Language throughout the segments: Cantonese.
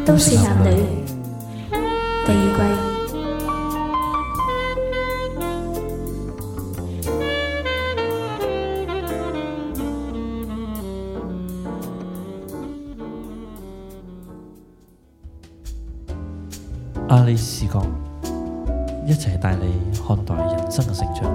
都市男女第二季。 阿里視角一齊帶你看待人生嘅成長。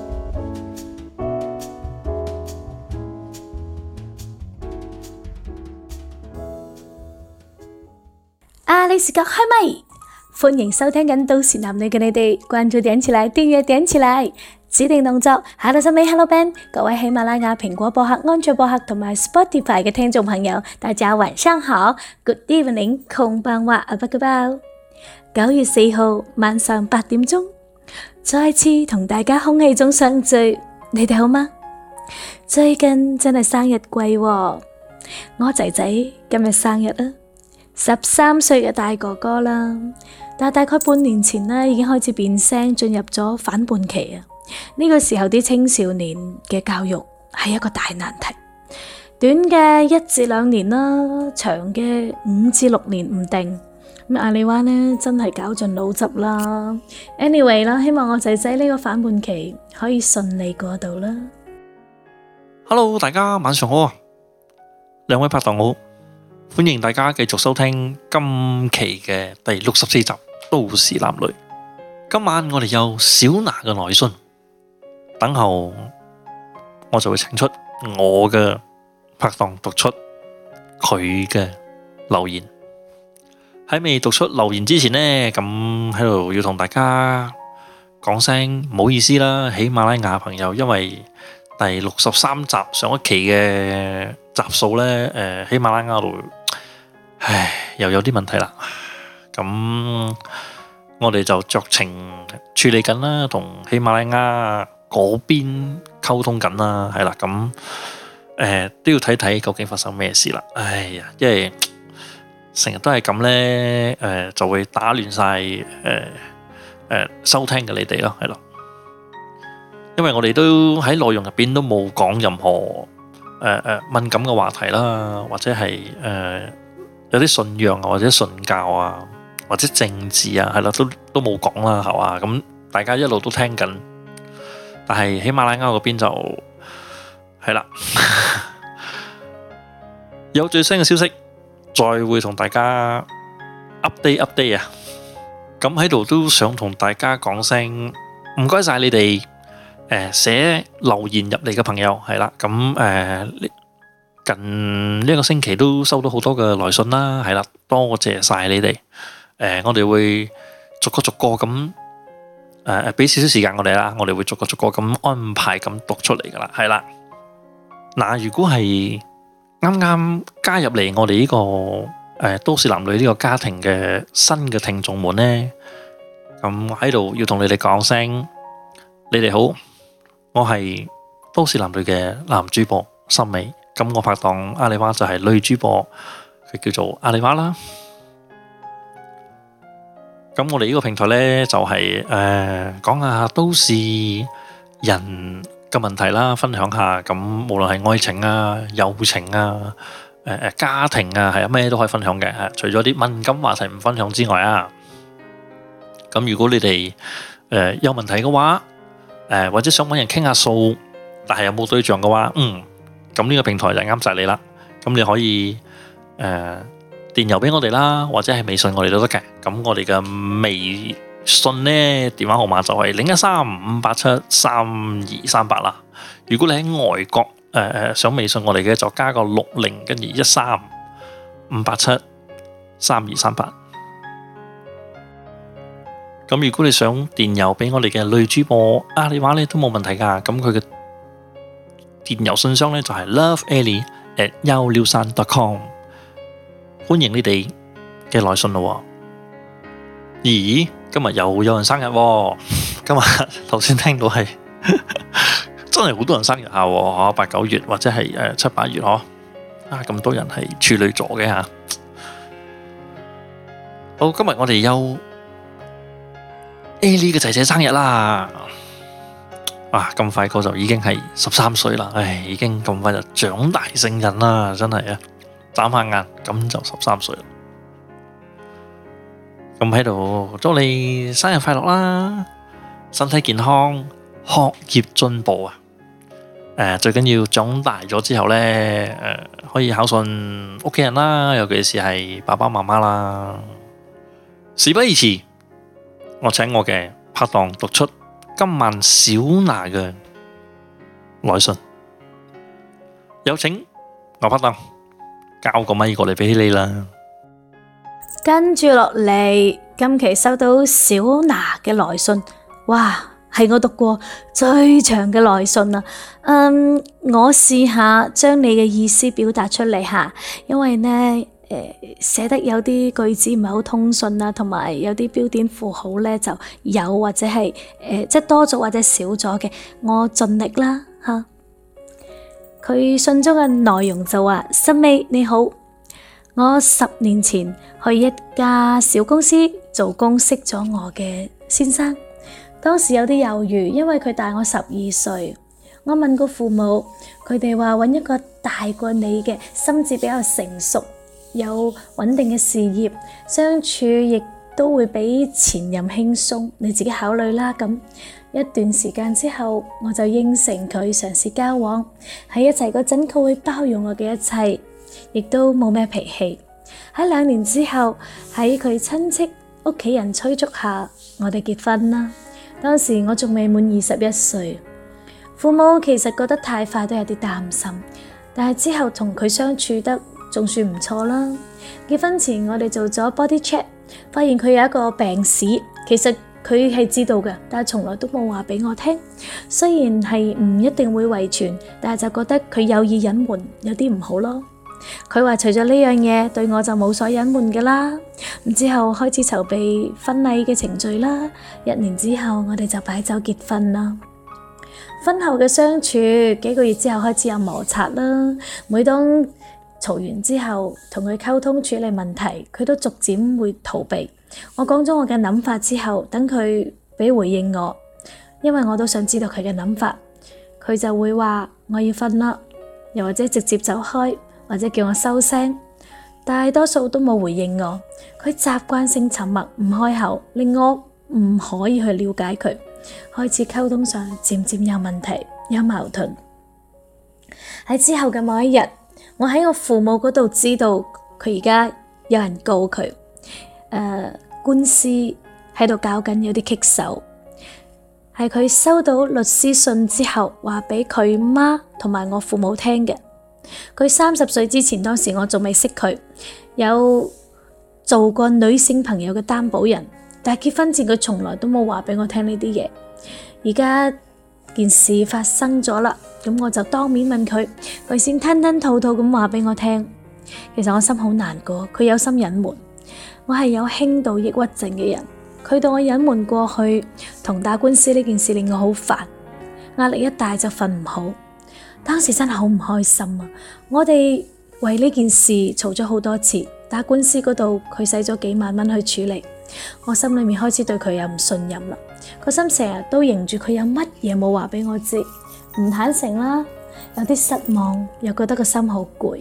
阿里視角開咪，歡迎收聽緊都市男女嘅你哋，關注點起來，訂閱點起來，指定動作 Hello 森美 Hello Ben， 各位喜馬拉雅、蘋果播客、安卓播客同埋 Spotify 嘅聽眾朋友，大家晚上好 ，Good evening，こんばんは，阿伯嘅包。9月4號晚上8點鐘，再次同大家空氣中相聚，你哋好嗎？最近真係生日季喎，我仔仔今日生日啦，13歲嘅大哥哥啦，但大概半年前呢已經開始變聲，進入咗反叛期啊！呢個時候啲青少年嘅教育係一個大難題，短嘅1至2年啦，長嘅5至6年唔定。咁阿里娃呢真係絞盡腦汁啦。Anyway 啦，希望我仔仔呢個反叛期可以順利過渡啦。 Hello， 大家晚上好啊！兩位拍檔好，歡迎大家繼續收聽今期嘅第64集《都市男女》。今晚我哋有小娜嘅來信，等候我就會請出我嘅拍檔讀出佢嘅留言。喺未讀出留言之前呢，咁喺度要同大家講聲唔好意思啦，喜馬拉雅朋友，因為第63集上一期嘅集數呢，喜馬拉雅度，又有啲問題啦。咁我哋就酌情處理緊啦，同喜馬拉雅嗰邊溝通緊啦，係啦，咁都要睇睇究竟發生咩事啦。哎呀，因為成日都係咁呢，就會打亂晒收聽嘅你哋咯，係咯。因為我哋都喺內容入邊都冇講任何敏感嘅話題啦，或者係有啲信仰啊，或者信教啊，或者政治啊，係啦，都冇講啦，係嘛。咁大家一路都聽緊，但係喜馬拉雅嗰邊就係啦，有最新嘅消息。再會同大家 update 啊！咁喺度都想同大家講聲唔該晒你哋寫留言入嚟嘅朋友，係啦，咁近呢一個星期都收到好多嘅來信啦，係啦，多謝晒你哋。我哋會逐個咁俾少少時間我哋啦，我哋會逐個咁安排咁讀出嚟噶啦，係啦。嗱，如果係啱啱加入嚟我哋呢個都市男女呢個家庭嘅新嘅聽眾們呢，咁喺度要同你哋講聲，你哋好，我係都市男女嘅男主播森美，咁我拍檔阿里娃就係女主播，佢叫做阿里娃啦。咁我哋呢個平台呢就係講下都市人嘅問題啦，分享下，咁無論係愛情啊、友情啊、家庭啊，係啊，咩都可以分享嘅。除咗啲敏感話題唔分享之外啊，咁如果你哋有問題嘅話，或者想揾人傾下數，但係有冇對象嘅話，咁呢個平台就啱晒你啦。咁你可以電郵俾我哋啦，或者係微信我哋都得嘅。咁我哋嘅微信呢電話號碼就係013-587-3238啦。如果你喺外國想微信我哋嘅，就加個60跟住13-587-3238。咁如果你想電郵俾我哋嘅女主播阿里娃呢都冇問題噶。咁佢嘅電郵信箱呢就係 loveali@163.com。歡迎你哋嘅來信咯。咦？今日又有人生日喎！今日頭先聽到係真係好多人生日下喎，8、9月或者係7、8月嗬，咁多人係處女座嘅吓。好，今日我哋有 Ali 嘅仔仔生日啦！咁快個就已經係13歲啦，已經咁快就長大成人啦，真係啊！眨下眼咁就13歲啦。 咁喺度祝你生日快樂啦，身體健康，學業進步啊！最緊要長大咗之後呢，可以孝順屋企人啦，尤其是係爸爸媽媽啦。事不宜遲，我請我嘅拍檔讀出今晚小娜嘅來信。有請我拍檔交個咪過嚟俾你啦。 跟住落嚟，今期收到小娜嘅來信，哇，係我讀過最長嘅來信啦。我試下將你嘅意思表達出嚟吓，因為呢寫得有啲句子唔係好通順啊，同埋有啲標點符號呢就有或者係即係多咗或者少咗嘅，我盡力啦吓。佢信中嘅內容就話：森美你好，我10年前去一家小公司做工，識咗我嘅先生。當時有啲猶豫，因為佢大我12歲。我問過父母，佢哋話揾一個大過你嘅，心智比較成熟，有穩定嘅事業，相處亦都會比前任輕鬆。你自己考慮啦。咁一段時間之後，我就應承佢嘗試交往。喺一齊嗰陣，佢會包容我嘅一切，亦都冇咩脾氣。喺2年之後，喺佢親戚屋企人催促下，我哋結婚啦。當時我仲未滿21歲，父母其實覺得太快，都有啲擔心。但係之後同佢相處得仲算唔錯啦。結婚前我哋做咗 body check， 發現佢有一個病史，其實佢係知道嘅，但係從來都冇話俾我聽。雖然係唔一定會遺傳，但係就覺得佢有意隱瞞，有啲唔好咯。佢話除咗呢樣嘢，對我就冇所隱瞞㗎啦。之後開始籌備婚禮嘅程序啦。1年之後，我哋就擺酒結婚啦。婚後嘅相處，幾個月之後開始有摩擦啦。每當嘈完之後，同佢溝通處理問題，佢都逐漸會逃避。我講咗我嘅諗法之後，等佢俾回應我，因為我都想知道佢嘅諗法。佢就會話我要瞓啦，又或者直接走開，或者叫我收聲。大多數都冇回應我。佢習慣性沉默唔開口，令我唔可以去了解佢。開始溝通上漸漸有問題，有矛盾。喺之後嘅某一日，我喺我父母嗰度知道佢而家有人告佢，官司喺度搞緊，有啲棘手。係佢收到律師信之後，話俾佢媽同埋我父母聽嘅。佢30歲之前，當時我仲未識佢，有做過女性朋友嘅擔保人，但係結婚前佢從來都冇話俾我聽呢啲嘢。而家件事發生咗啦，咁我就當面問佢，佢先吞吞吐吐咁話俾我聽。其實我心好難過，佢有心隱瞞。我係有輕度抑鬱症嘅人，佢對我隱瞞過去同打官司呢件事令我好煩，壓力一大就瞓唔好。當時真係好唔開心啊！我哋為呢件事嘈咗好多次，打官司嗰度佢使咗幾萬蚊去處理，我心裏面開始對佢有唔信任啦。個心成日都認住佢有乜嘢冇話俾我知，唔坦誠啦，有啲失望，又覺得個心好攰。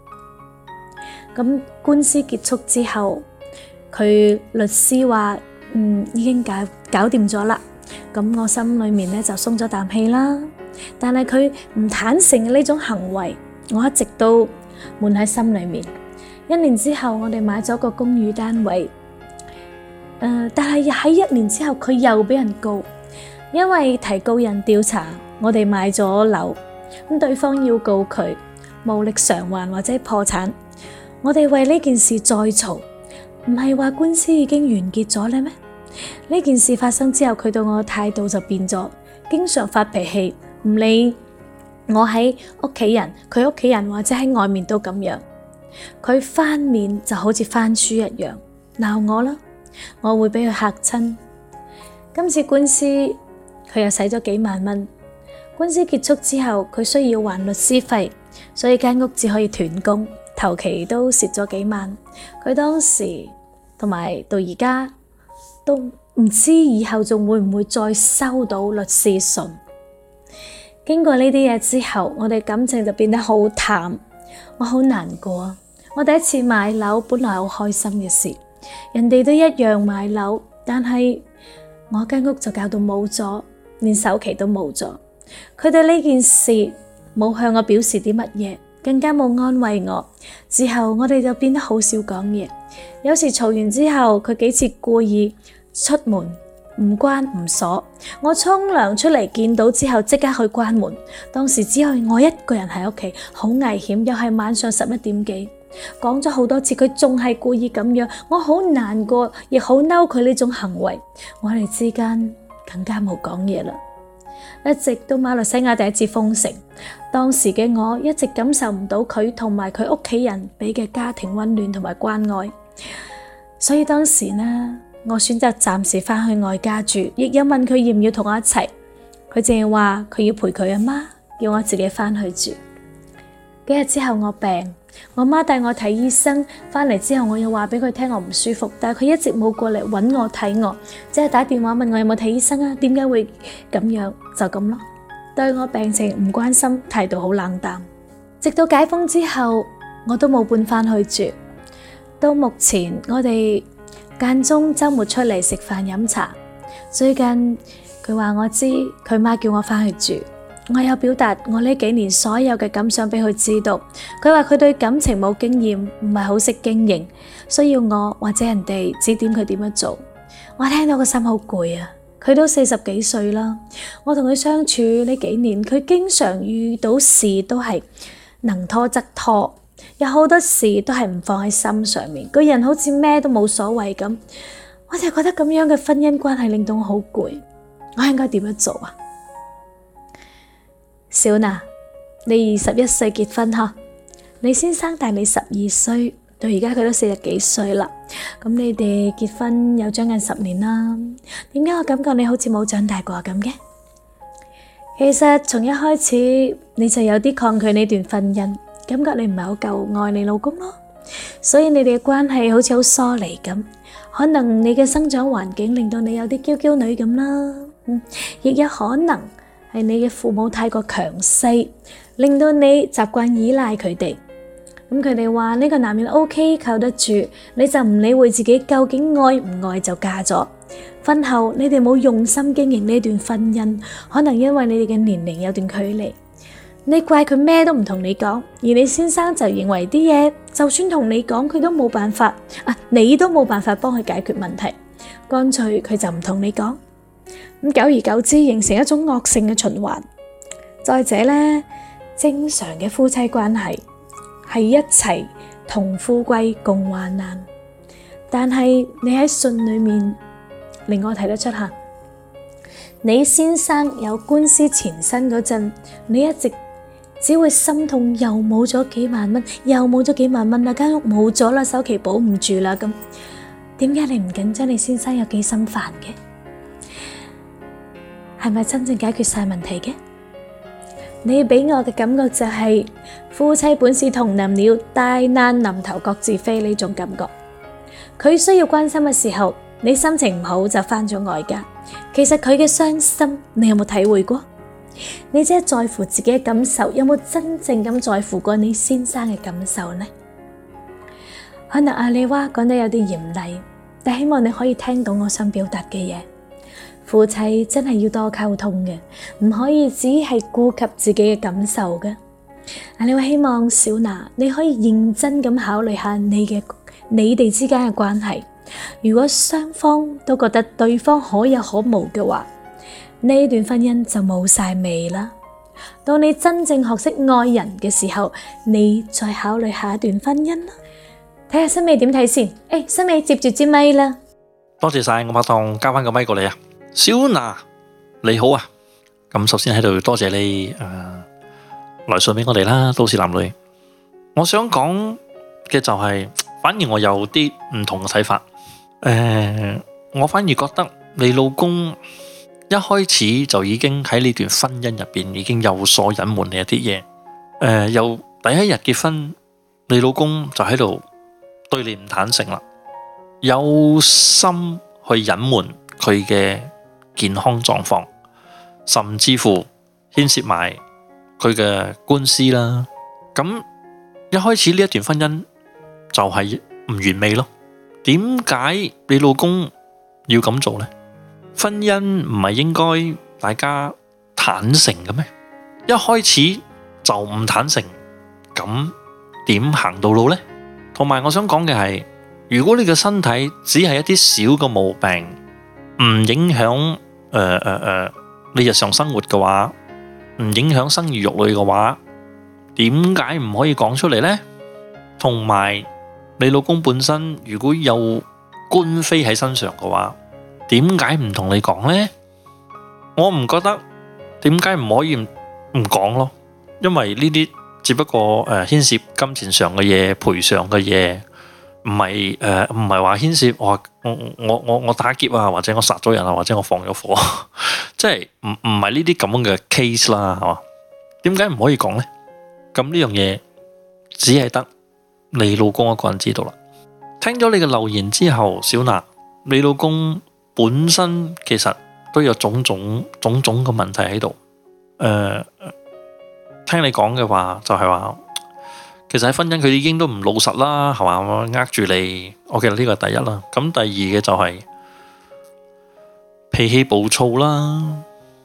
咁官司結束之後，佢律師話已經搞掂咗啦，咁我心裏面咧就鬆咗啖氣啦。但係佢唔坦誠嘅呢種行為，我一直都悶喺心裏面。1年之後，我哋買咗個公寓單位，但係喺1年之後，佢又俾人告，因為提告人調查我哋買咗樓，咁對方要告佢無力償還或者破產。我哋為呢件事再嘈，唔係話官司已經完結咗咧咩？呢件事發生之後，佢對我嘅態度就變咗，經常發脾氣，唔理我喺屋企人，佢屋企人或者喺外面都咁樣。佢翻面就好似翻書一樣，鬧我啦，我會俾佢嚇親。今次官司佢又使咗幾萬蚊。官司結束之後，佢需要還律師費，所以間屋只可以斷供，頭期都蝕咗幾萬。佢當時同埋到而家都唔知以後仲會唔會再收到律師信。經過呢啲嘢之後，我哋感情就變得好淡，我好難過。我第一次買樓本來好開心嘅事， 人哋都一樣買樓，但係我間屋就搞到冇咗，連首期都冇咗。佢對呢件事冇向我表示啲乜嘢，更加冇安慰我。之後我哋就變得好少講嘢，有時嘈完之後，佢幾次故意出門唔關唔鎖，我沖涼出嚟見到之後即刻去關門。當時只有我一個人喺屋企，好危險，又係晚上11點幾。講咗好多次，佢仲係故意咁樣，我好難過，亦好嬲佢呢種行為。我哋之間更加冇講嘢啦。一直到馬來西亞第一次封城，當時嘅我一直感受唔到佢同埋佢屋企人俾嘅家庭溫暖同埋關愛，所以當時呢，我選擇暫時翻去外家住，亦有問佢要唔要同我一齊。佢淨係話佢要陪佢阿媽，叫我自己翻去住。幾日之後我病，我媽帶我睇醫生，翻嚟之後我又話俾佢聽我唔舒服，但係佢一直冇過嚟揾我睇我，只係打電話問我有冇睇醫生啊？點解會咁樣？就咁咯，對我病情唔關心，態度好冷淡。直到解封之後，我都冇搬翻去住。到目前我哋間中周末出嚟食飯飲茶。最近佢話我知，佢媽叫我翻去住。我有表達我呢幾年所有嘅感想俾佢知道，佢話佢對感情冇經驗，唔係好識經營，需要我或者人哋指點佢點樣做。我聽到個心好攰啊！佢都40幾歲啦，我同佢相處呢幾年，佢經常遇到事都係能拖則拖，有好多事都係唔放喺心上面，個人好似咩都冇所謂咁。我就覺得咁樣嘅婚姻關係令到我好攰，我應該點樣做啊？小娜，你21歲結婚嗬？你先生大你12歲，到而家佢都40幾歲啦。咁你哋結婚有將近10年啦，點解我感覺你好似冇長大過咁嘅？其實從一開始你就有啲抗拒呢段婚姻，感覺你唔係好夠愛你老公咯，所以你哋嘅關係好似好疏離咁。可能你嘅生長環境令到你有啲嬌嬌女咁啦，亦有可能係你嘅父母太過強勢，令到你習慣依賴佢哋。咁佢哋話呢個男人 OK 靠得住，你就唔理會自己究竟愛唔愛就嫁咗。婚後你哋冇用心經營呢段婚姻，可能因為你哋嘅年齡有段距離，你怪佢咩都唔同你講，而你先生就認為啲嘢就算同你講佢都冇辦法，你都冇辦法幫佢解決問題，乾脆佢就唔同你講。咁久而久之形成一種惡性嘅循環。再者呢，正常嘅夫妻關係係一齊同富貴共患難，但係你喺信裏面令我睇得出吓，你先生有官司纏身嗰陣，你一直只會心痛，又冇咗幾萬蚊，又冇咗幾萬蚊啦，間屋冇咗啦，首期保唔住啦，咁點解你唔緊張你先生有幾心煩嘅？係咪真正解決晒問題嘅？你俾我嘅感覺就係夫妻本是同林鳥，大難臨頭各自飛呢種感覺。佢需要關心嘅時候，你心情唔好就返咗外家。其實佢嘅傷心，你有冇體會過？你只係在乎自己嘅感受，有冇真正咁在乎過你先生嘅感受呢？可能阿里娃講得有啲嚴厲，但希望你可以聽到我想表達嘅嘢。夫妻真係要多溝通嘅，唔可以只係顧及自己嘅感受嘅。我希望小娜你可以認真咁考慮下你哋之間嘅關係。如果雙方都覺得對方可有可無嘅話，呢段婚姻就冇晒味啦。到你真正學識愛人嘅時候，你再考慮下一段婚姻啦。睇下新美點睇先。新美接住支咪啦。 多謝晒，我拍檔交翻個咪過嚟啊！小娜你好啊，咁首先喺度多謝你來信俾我哋啦，都市男女。我想講嘅就係，反而我有啲唔同嘅睇法。我反而覺得你老公一開始就已經喺呢段婚姻入邊已經有所隱瞞你一啲嘢。由第一日結婚，你老公就喺度對你唔坦誠啦，有心去隱瞞佢嘅健康狀況，甚至乎牽涉埋佢嘅官司啦。咁一開始呢一段婚姻就係唔完美咯。 點解你老公要咁做呢？婚姻唔係應該大家坦誠嘅咩？一開始就唔坦誠，咁點行到路呢？同埋我想講嘅係，如果你嘅身體只係一啲小嘅毛病，唔影響你日常生活嘅話，唔影響生兒育女嘅話，點解唔可以講出嚟呢？同埋你老公本身如果有官非喺身上嘅話，點解唔同你講呢？我唔覺得點解唔可以唔講咯，因為呢啲只不過牽涉金錢上嘅嘢、賠償嘅嘢，唔係話牽涉我打劫啊，或者我殺咗人啊，或者我放咗火，即係唔係呢啲咁樣嘅 case 啦，係嘛？點解唔可以講呢？咁呢樣嘢只係得你老公一個人知道啦。聽咗你嘅留言之後，小娜，你老公本身其實都有種種嘅問題喺度。聽你講嘅話就係話，其實喺婚姻佢已經都唔老實啦，係嘛？呃住你，我記得呢個係第一啦。咁第二嘅就係脾氣暴躁啦。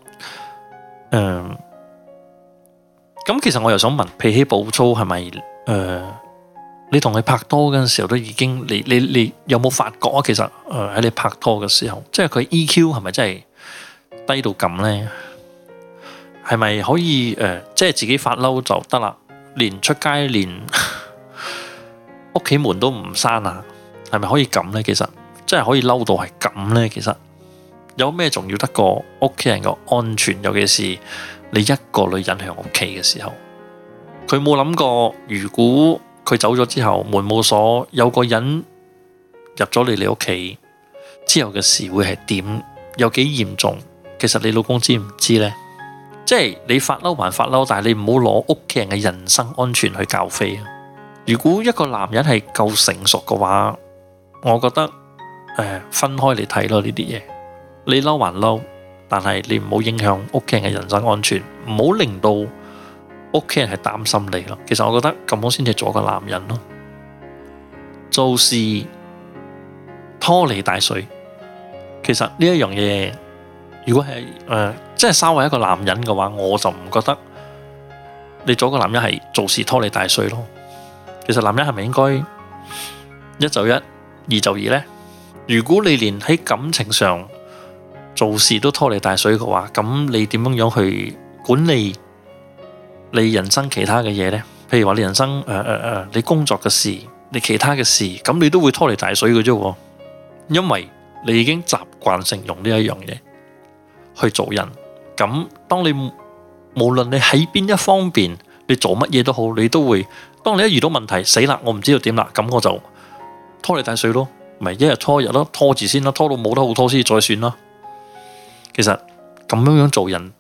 咁其實我又想問，脾氣暴躁係咪你同佢拍拖嗰陣時候都已經，你有冇發覺啊？其實喺你拍拖嘅時候，即係佢 EQ 係咪真係低到咁呢？係咪可以即係自己發嬲就得啦？連出街連屋企門都唔閂啊？係咪可以咁呢？其實真係可以嬲到係咁呢？其實有咩重要得過屋企人嘅安全？尤其是你一個女人喺屋企嘅時候，佢冇諗過如果佢走咗之後門冇鎖，有個人入咗你屋企之後嘅事會係點？有幾嚴重？其實你老公知唔知呢？即係你發嬲還發嬲，但係你唔好攞屋企人嘅人身安全去較飛啊！如果一個男人係夠成熟嘅話，我覺得分開嚟睇咯呢啲嘢。你嬲還嬲，但係你唔好影響屋企人嘅人身安全，唔好令到屋企人係擔心你咯。其實我覺得咁樣先至做個男人咯。做事拖泥帶水，其實呢一樣嘢，如果係即係稍為一個男人嘅話，我就唔覺得你做個男人係做事拖泥帶水咯。其實男人係咪應該一就一，二就二呢？如果你連喺感情上做事都拖泥帶水嘅話，咁你點樣去管理你人生其他嘅嘢呢？譬如話你人生你工作嘅事，你其他嘅事，咁你都會拖泥帶水嘅啫。因為你已經習慣性用呢一樣嘢去做人。咁當你無論你喺邊一方面，你做乜嘢都好，你都會當你一遇到問題，死啦，我唔知道點啦，咁我就拖泥帶水咯，咪一日拖一日咯，拖住先啦，拖到冇得好拖先再算啦。其實咁樣做人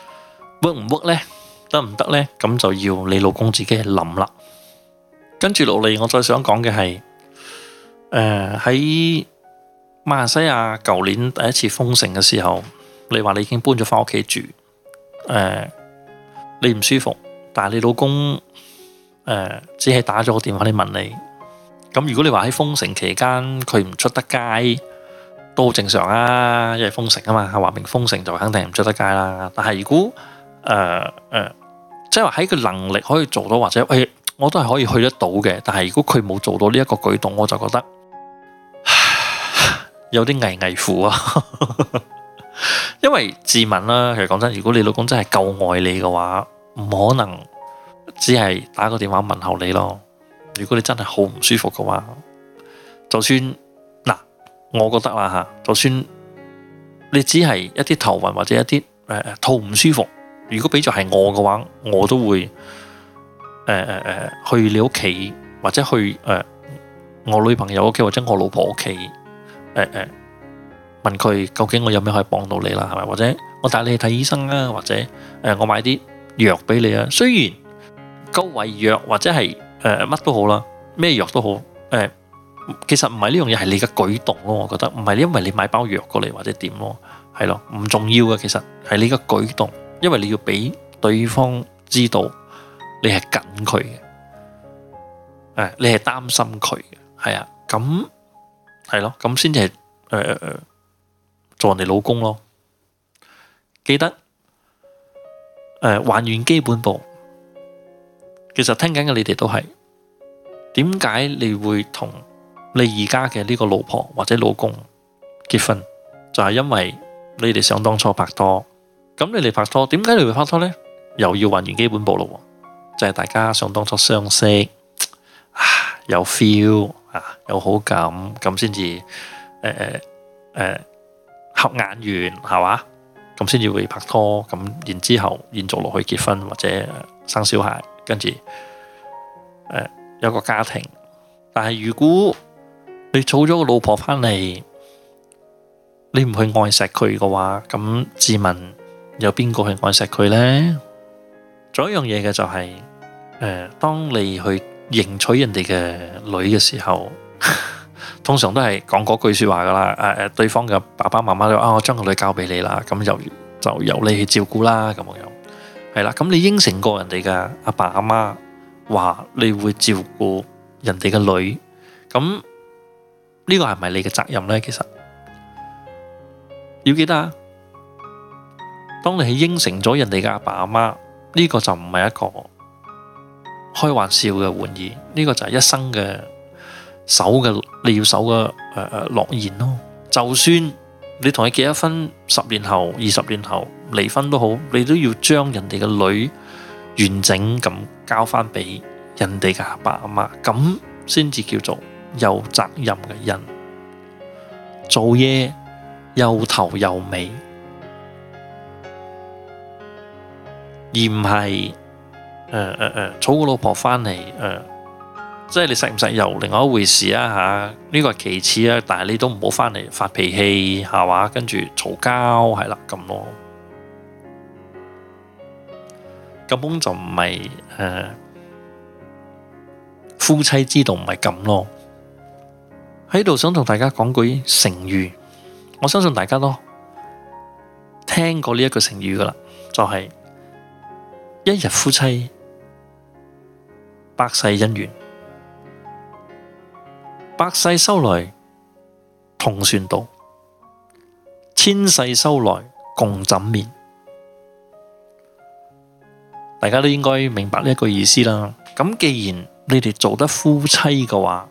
work 唔 work 呢？得唔得呢？咁就要你老公自己去諗啦。跟住落嚟，我再想講嘅係喺馬來西亞舊年第一次封城嘅時候，你話你已經搬咗翻屋企住，你唔舒服，但係你老公只係打咗個電話嚟問你。咁如果你話喺封城期間佢唔出得街，都好正常啊，因為封城啊嘛，話明封城就肯定唔出得街啦。但係如果即係話喺佢能力可以做到，或者我都係可以去得到嘅，但係如果佢冇做到呢一個舉動，我就覺得有啲危乎啊。因為自問啦，其實講真，如果你老公真係夠愛你嘅話，唔可能只係打個電話問候你咯。如果你真係好唔舒服嘅話，就算嗱，我覺得啦吓，就算你只係一啲頭暈或者一啲肚唔舒服，如果俾咗係我嘅話，我都會去你屋企，或者去我女朋友屋企，或者我老婆屋企問佢究竟我有咩可以幫到你啦，係咪？或者我帶你去睇醫生啊，或者我買啲藥俾你啊。雖然夠胃藥或者係乜都好啦，咩藥都好，其實唔係呢樣嘢，係你嘅舉動咯。我覺得唔係因為你買包藥過嚟或者點咯，係咯，唔重要嘅。其實係你嘅舉動，因為你要俾對方知道你係緊佢嘅，你係擔心佢嘅，係啊。咁係咯，咁先至係做人哋老公咯。記得還原基本步。其實聽緊嘅你哋都係，點解你會同你而家嘅呢個老婆或者老公結婚？就係因為你哋想當初拍拖。咁你哋拍拖，點解你會拍拖呢？又要還原基本步咯，就係大家想當初相識，有 feel 有好感，咁先至合眼緣係嘛？咁先至會拍拖，咁然之後延續落去結婚或者生小孩，跟住有個家庭。但係如果你娶咗個老婆翻嚟，你唔去愛錫佢嘅話，咁自問有邊個去愛錫佢呢？仲有一樣嘢嘅就係當你去迎娶人哋嘅女嘅時候，通常都係講嗰句說話噶啦。對方嘅爸爸媽媽都話我將個女交俾你啦，咁就由你去照顧啦，咁樣係啦。咁你應承過人哋嘅阿爸阿媽話你會照顧人哋嘅女，咁呢個係咪你嘅責任呢？其實要記得啊，當你係應承咗人哋嘅阿爸阿媽，呢個就唔係一個開玩笑嘅玩意，呢個就係一生嘅你要守嘅諾言咯。就算你同佢結咗婚，10年後、20年後離婚都好，你都要將人哋嘅女完整咁交翻俾人哋嘅阿爸阿媽，咁先至叫做有責任嘅人。做嘢有頭有尾，而唔係娶個老婆翻嚟，即係你實唔實又另外一回事啊吓，呢個係其次啊，但係你都唔好翻嚟發脾氣係嘛，跟住嘈交係啦咁咯，根本就唔係夫妻之道唔係咁咯。喺度想同大家講句成語，我相信大家都聽過呢一句成語噶啦，就係一日夫妻百世姻緣，百世修來同船渡，千世修來共枕眠。大家都應該明白呢一句意思啦。咁既然你哋做得夫妻嘅話，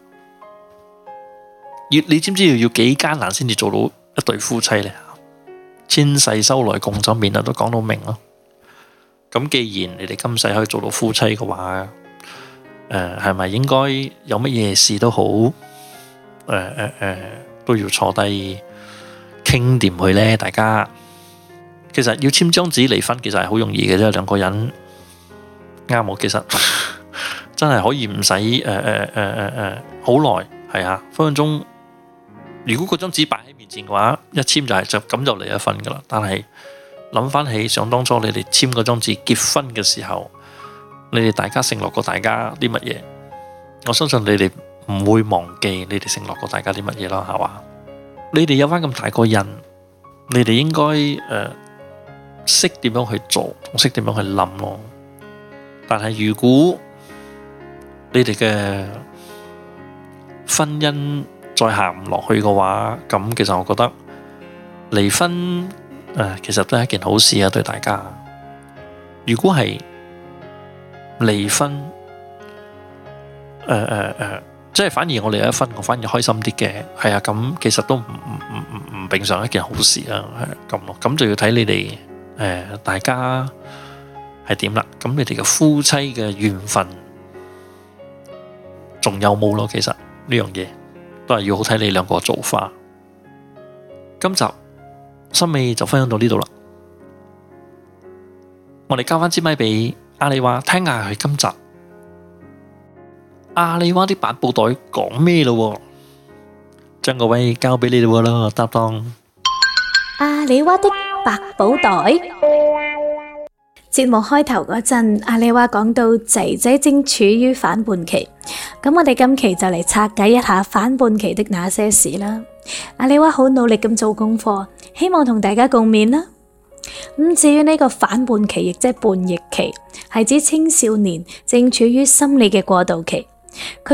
你知唔知要幾艱難先至做到一對夫妻呢？千世修來共枕眠啊，都講到明咯。咁既然你哋今世可以做到夫妻嘅話，係咪應該有乜嘢事都好，都要坐低傾掂佢呢？大家其實要簽張紙離婚，其實係好容易嘅啫，兩個人啱我，其實真係可以唔使好耐，係啊，分分鐘。如果嗰張紙擺喺面前嘅話，一簽就咁就離咗婚噶啦。但係諗翻起想當初你哋簽嗰張紙結婚嘅時候，你哋大家承諾過大家啲乜嘢？我相信你哋唔會忘記你哋承諾過大家啲乜嘢啦，係嘛？你哋有翻咁大個人，你哋應該識點樣去做，識點樣去諗咯。但係如果你哋嘅婚姻再行唔落去嘅話，咁其實我覺得離婚其實都係一件好事啊，對大家。如果係離婚，即係反而我離咗婚，我反而開心啲嘅，係啊，咁其實都唔並上一件好事啊，係咁咯。咁就要睇你哋大家係點啦。咁你哋嘅夫妻嘅緣分仲有冇咯？其實呢樣嘢都係要好睇你兩個做法。今集心尾就分享到呢度啦，我哋交翻支咪俾阿里娃聽下佢今集阿里娃啲百寶袋講咩咯，將個位交俾你哋啦，搭檔。 阿里娃的百寶袋。節目開頭嗰陣，阿里娃講到仔仔正處於反叛期，咁我哋今期就嚟拆解一下反叛期的那些事啦。阿里娃好努力咁做功課，希望同大家共勉啦。至於呢個反叛期，亦即係叛逆期，係指青少年正處於心理嘅過渡期，佢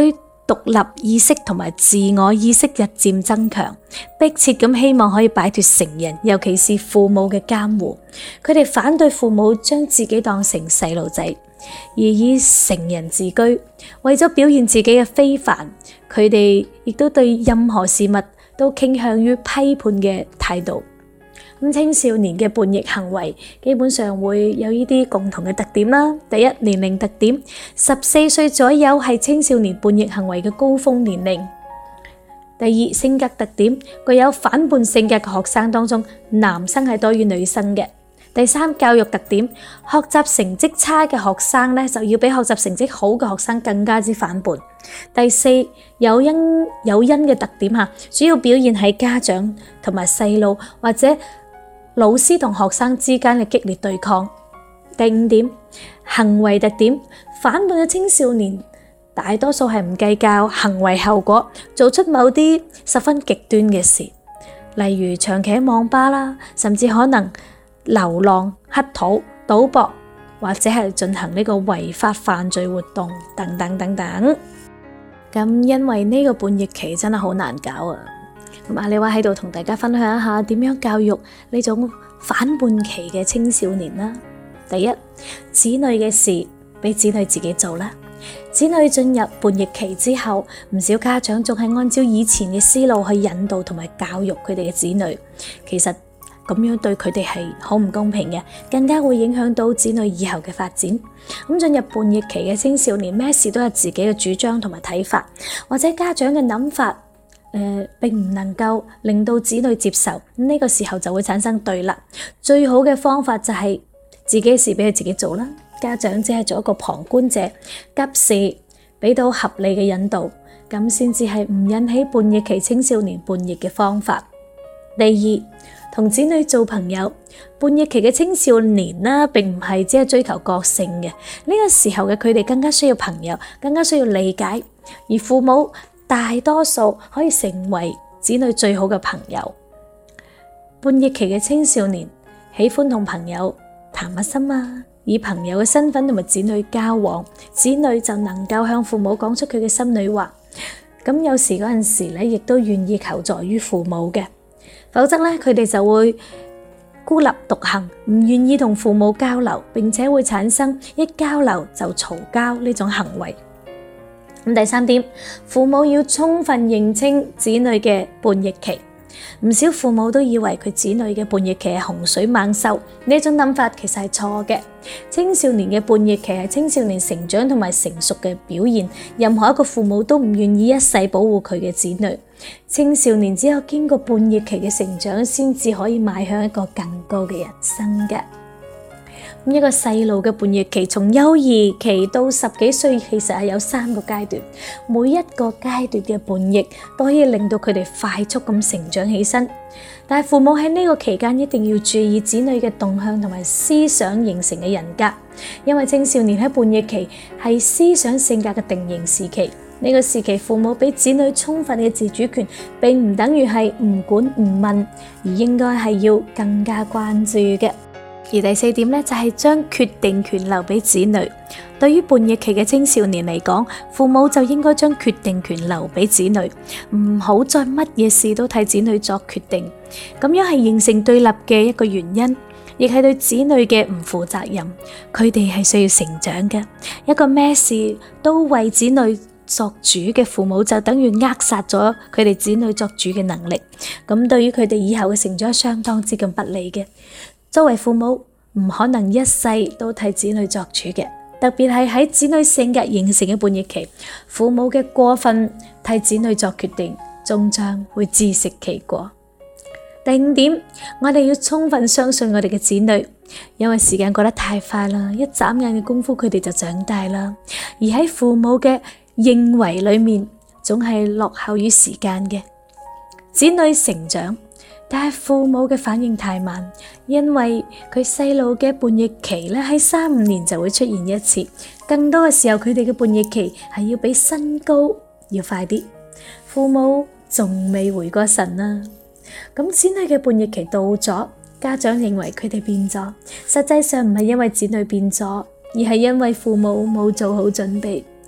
獨立意識同埋自我意識日漸增強，迫切咁希望可以擺脫成人，尤其是父母嘅監護。佢哋反對父母將自己當成細路仔，而以成人自居。為咗表現自己嘅非凡，佢哋亦都對任何事物都傾向於批判嘅態度。青少年嘅叛逆行為基本上會有呢啲共同嘅特點啦。第一，年齡特點，14歲左右係青少年叛逆行為嘅高峰年齡。第二，性格特點，具有反叛性格嘅學生當中，男生係多於女生嘅。第三，教育特點，學習成績差嘅學生呢，就要比學習成績好嘅學生更加之反叛。第四，誘因嘅特點吓，主要表現喺家長同埋細路或者老師同學生之間嘅激烈對抗。第五點，行為特點，反叛嘅青少年大多數係唔計較行為後果，做出某啲十分極端嘅事，例如長期喺網吧啦，甚至可能流浪、乞討、賭博，或者係進行呢個違法犯罪活動等等等等。咁因為呢個叛逆期真係好難搞啊！咁阿里娃喺度同大家分享一下點樣教育呢種反叛期嘅青少年啦。第一，子女嘅事俾子女自己做啦。子女進入叛逆期之後，唔少家長仲係按照以前嘅思路去引導同埋教育佢哋嘅子女，其實咁樣對佢哋係好唔公平嘅，更加會影響到子女以後嘅發展。咁進入叛逆期嘅青少年，咩事都有自己嘅主張同埋睇法，或者家長嘅諗法並唔能夠令到子女接受，呢個時候就會產生對立。最好嘅方法就係自己嘅事俾佢自己做啦，家長只係做一個旁觀者，及時俾到合理嘅引導，咁先至係唔引起叛逆期青少年叛逆嘅方法。第二，同子女做朋友。叛逆期嘅青少年啦，並唔係只係追求個性嘅，呢個時候嘅佢哋更加需要朋友，更加需要理解，而父母大多數可以成為子女最好嘅朋友。叛逆期嘅青少年喜歡同朋友談下心啊，以朋友嘅身份同埋子女交往，子女就能夠向父母講出佢嘅心裏話。咁有時嗰陣時咧，亦都願意求助於父母嘅，否則咧佢哋就會孤立獨行，唔願意同父母交流，並且會產生一交流就嘈交呢種行為。咁第三點，父母要充分認清子女嘅叛逆期。唔少父母都以為佢子女嘅叛逆期係洪水猛獸，呢種諗法其實係錯嘅。青少年嘅叛逆期係青少年成長同埋成熟嘅表現，任何一個父母都唔願意一世保護佢嘅子女。青少年只有經過叛逆期嘅成長，先至可以邁向一個更高嘅人生嘅。一個細路嘅叛逆期，從幼兒期到10幾歲，其實係有3個階段，每一個階段嘅叛逆都可以令到佢哋快速咁成長起身。但係父母喺呢個期間一定要注意子女嘅動向同埋思想形成嘅人格，因為青少年喺叛逆期係思想性格嘅定型時期。呢個時期，父母俾子女充分嘅自主權，並唔等於係唔管唔問，而應該係要更加關注嘅。而第4點呢，就係將決定權留俾子女。對於叛逆期嘅青少年嚟講，父母就應該將決定權留俾子女，唔好再乜嘢事都替子女作決定。咁樣係形成對立嘅一個原因，亦係對子女嘅唔負責任。佢哋係需要成長嘅，一個咩事都為子女作主嘅父母，就等於扼殺咗佢哋子女作主嘅能力。咁對於佢哋以後嘅成長相當之咁不利嘅。作為父母，唔可能一世都替子女作主嘅，特別係喺子女性格形成嘅叛逆期，父母嘅過分替子女作決定，終將會自食其果。第5點，我哋要充分相信我哋嘅子女，因為時間過得太快啦，一眨眼嘅功夫佢哋就長大啦，而喺父母嘅認為裏面，總係落後於時間嘅。子女成長，但係父母嘅反應太慢，因為佢細路嘅叛逆期咧喺3-5年就會出現一次，更多嘅時候佢哋嘅叛逆期係要比身高要快啲，父母仲未回過神啊。咁子女嘅叛逆期到咗，家長認為佢哋變咗，實際上唔係因為子女變咗，而係因為父母冇做好準備。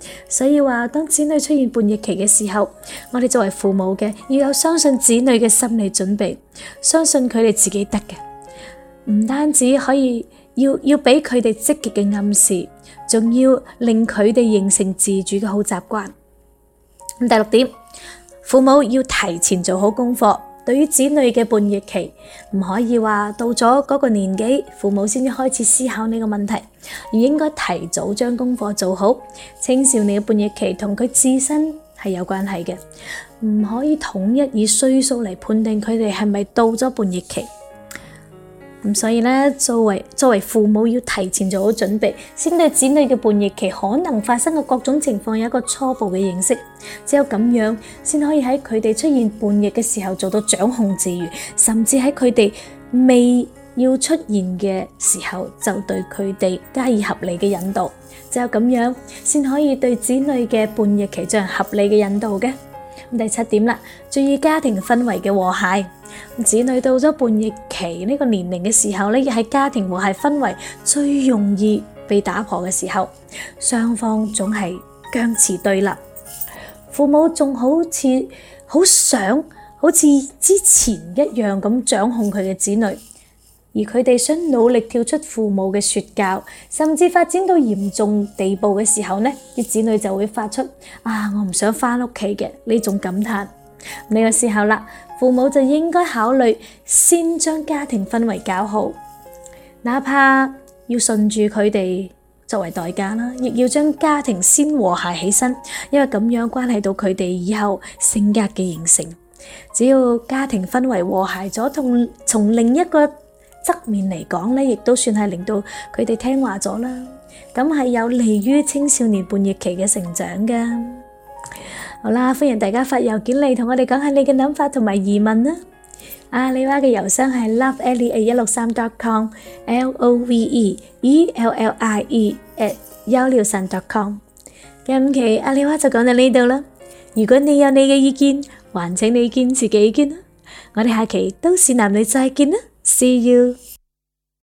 所以話，當子女出現叛逆期嘅時候，我哋作為父母嘅要有相信子女嘅心理準備，相信佢哋自己得嘅，唔單止可以要俾佢哋積極嘅暗示，仲要令佢哋形成自主嘅好習慣。第六點，父母要提前做好功課。對於子女嘅叛逆期，唔可以話到咗嗰個年紀，父母先至開始思考呢個問題，而應該提早將功課做好。青少年嘅叛逆期同佢自身係有關係嘅，唔可以統一以歲數嚟判定佢哋係咪到咗叛逆期。所以呢，作為父母要提前做好準備，先對子女嘅叛逆期可能發生嘅各種情況有一個初步嘅認識。只有咁樣，先可以喺佢哋出現叛逆嘅時候做到掌控自如，甚至喺佢哋未要出現嘅時候，就對佢哋加以合理嘅引導。只有咁樣，先可以對子女嘅叛逆期進行合理嘅引導嘅。第七點啦，注意家庭氛圍嘅和諧。子女到咗叛逆期呢個年齡嘅時候呢，亦係家庭和諧氛圍最容易被打破嘅時候，雙方總係僵持對立，父母仲好似好想好似之前一樣咁掌控佢嘅子女，而佢哋想努力跳出父母嘅說教，甚至發展到嚴重地步嘅時候呢，啲子女就會發出我唔想返屋企嘅呢種感嘆。呢個時候啦，父母就應該考慮先將家庭氛圍搞好，哪怕要順住佢哋作為代價啦，亦要將家庭先和諧起身，因為咁樣關係到佢哋以後性格嘅形成。只要家庭氛圍和諧咗，從另一個側面嚟講呢，亦都算係令到佢哋聽話咗啦，咁係有利於青少年叛逆期嘅成長噶。好啦，歡迎大家發郵件嚟同我哋講下你嘅諗法同埋疑問啦。阿里娃嘅郵箱係 loveellie@163.com loveellie@163.com。今期阿里娃就講到呢度啦。如果你有你嘅意見，還請你堅持己見啦。我哋下期都市男女再見啦，See you。